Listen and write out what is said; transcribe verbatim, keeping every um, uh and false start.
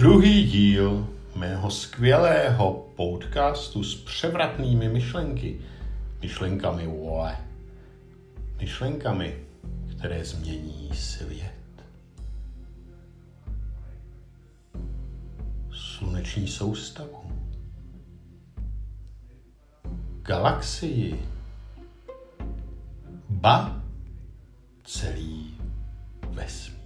Druhý díl mého skvělého podcastu s převratnými myšlenky. Myšlenkami, vole. Myšlenkami, které změní svět. Sluneční soustavu. Galaxii. Ba celý vesmír.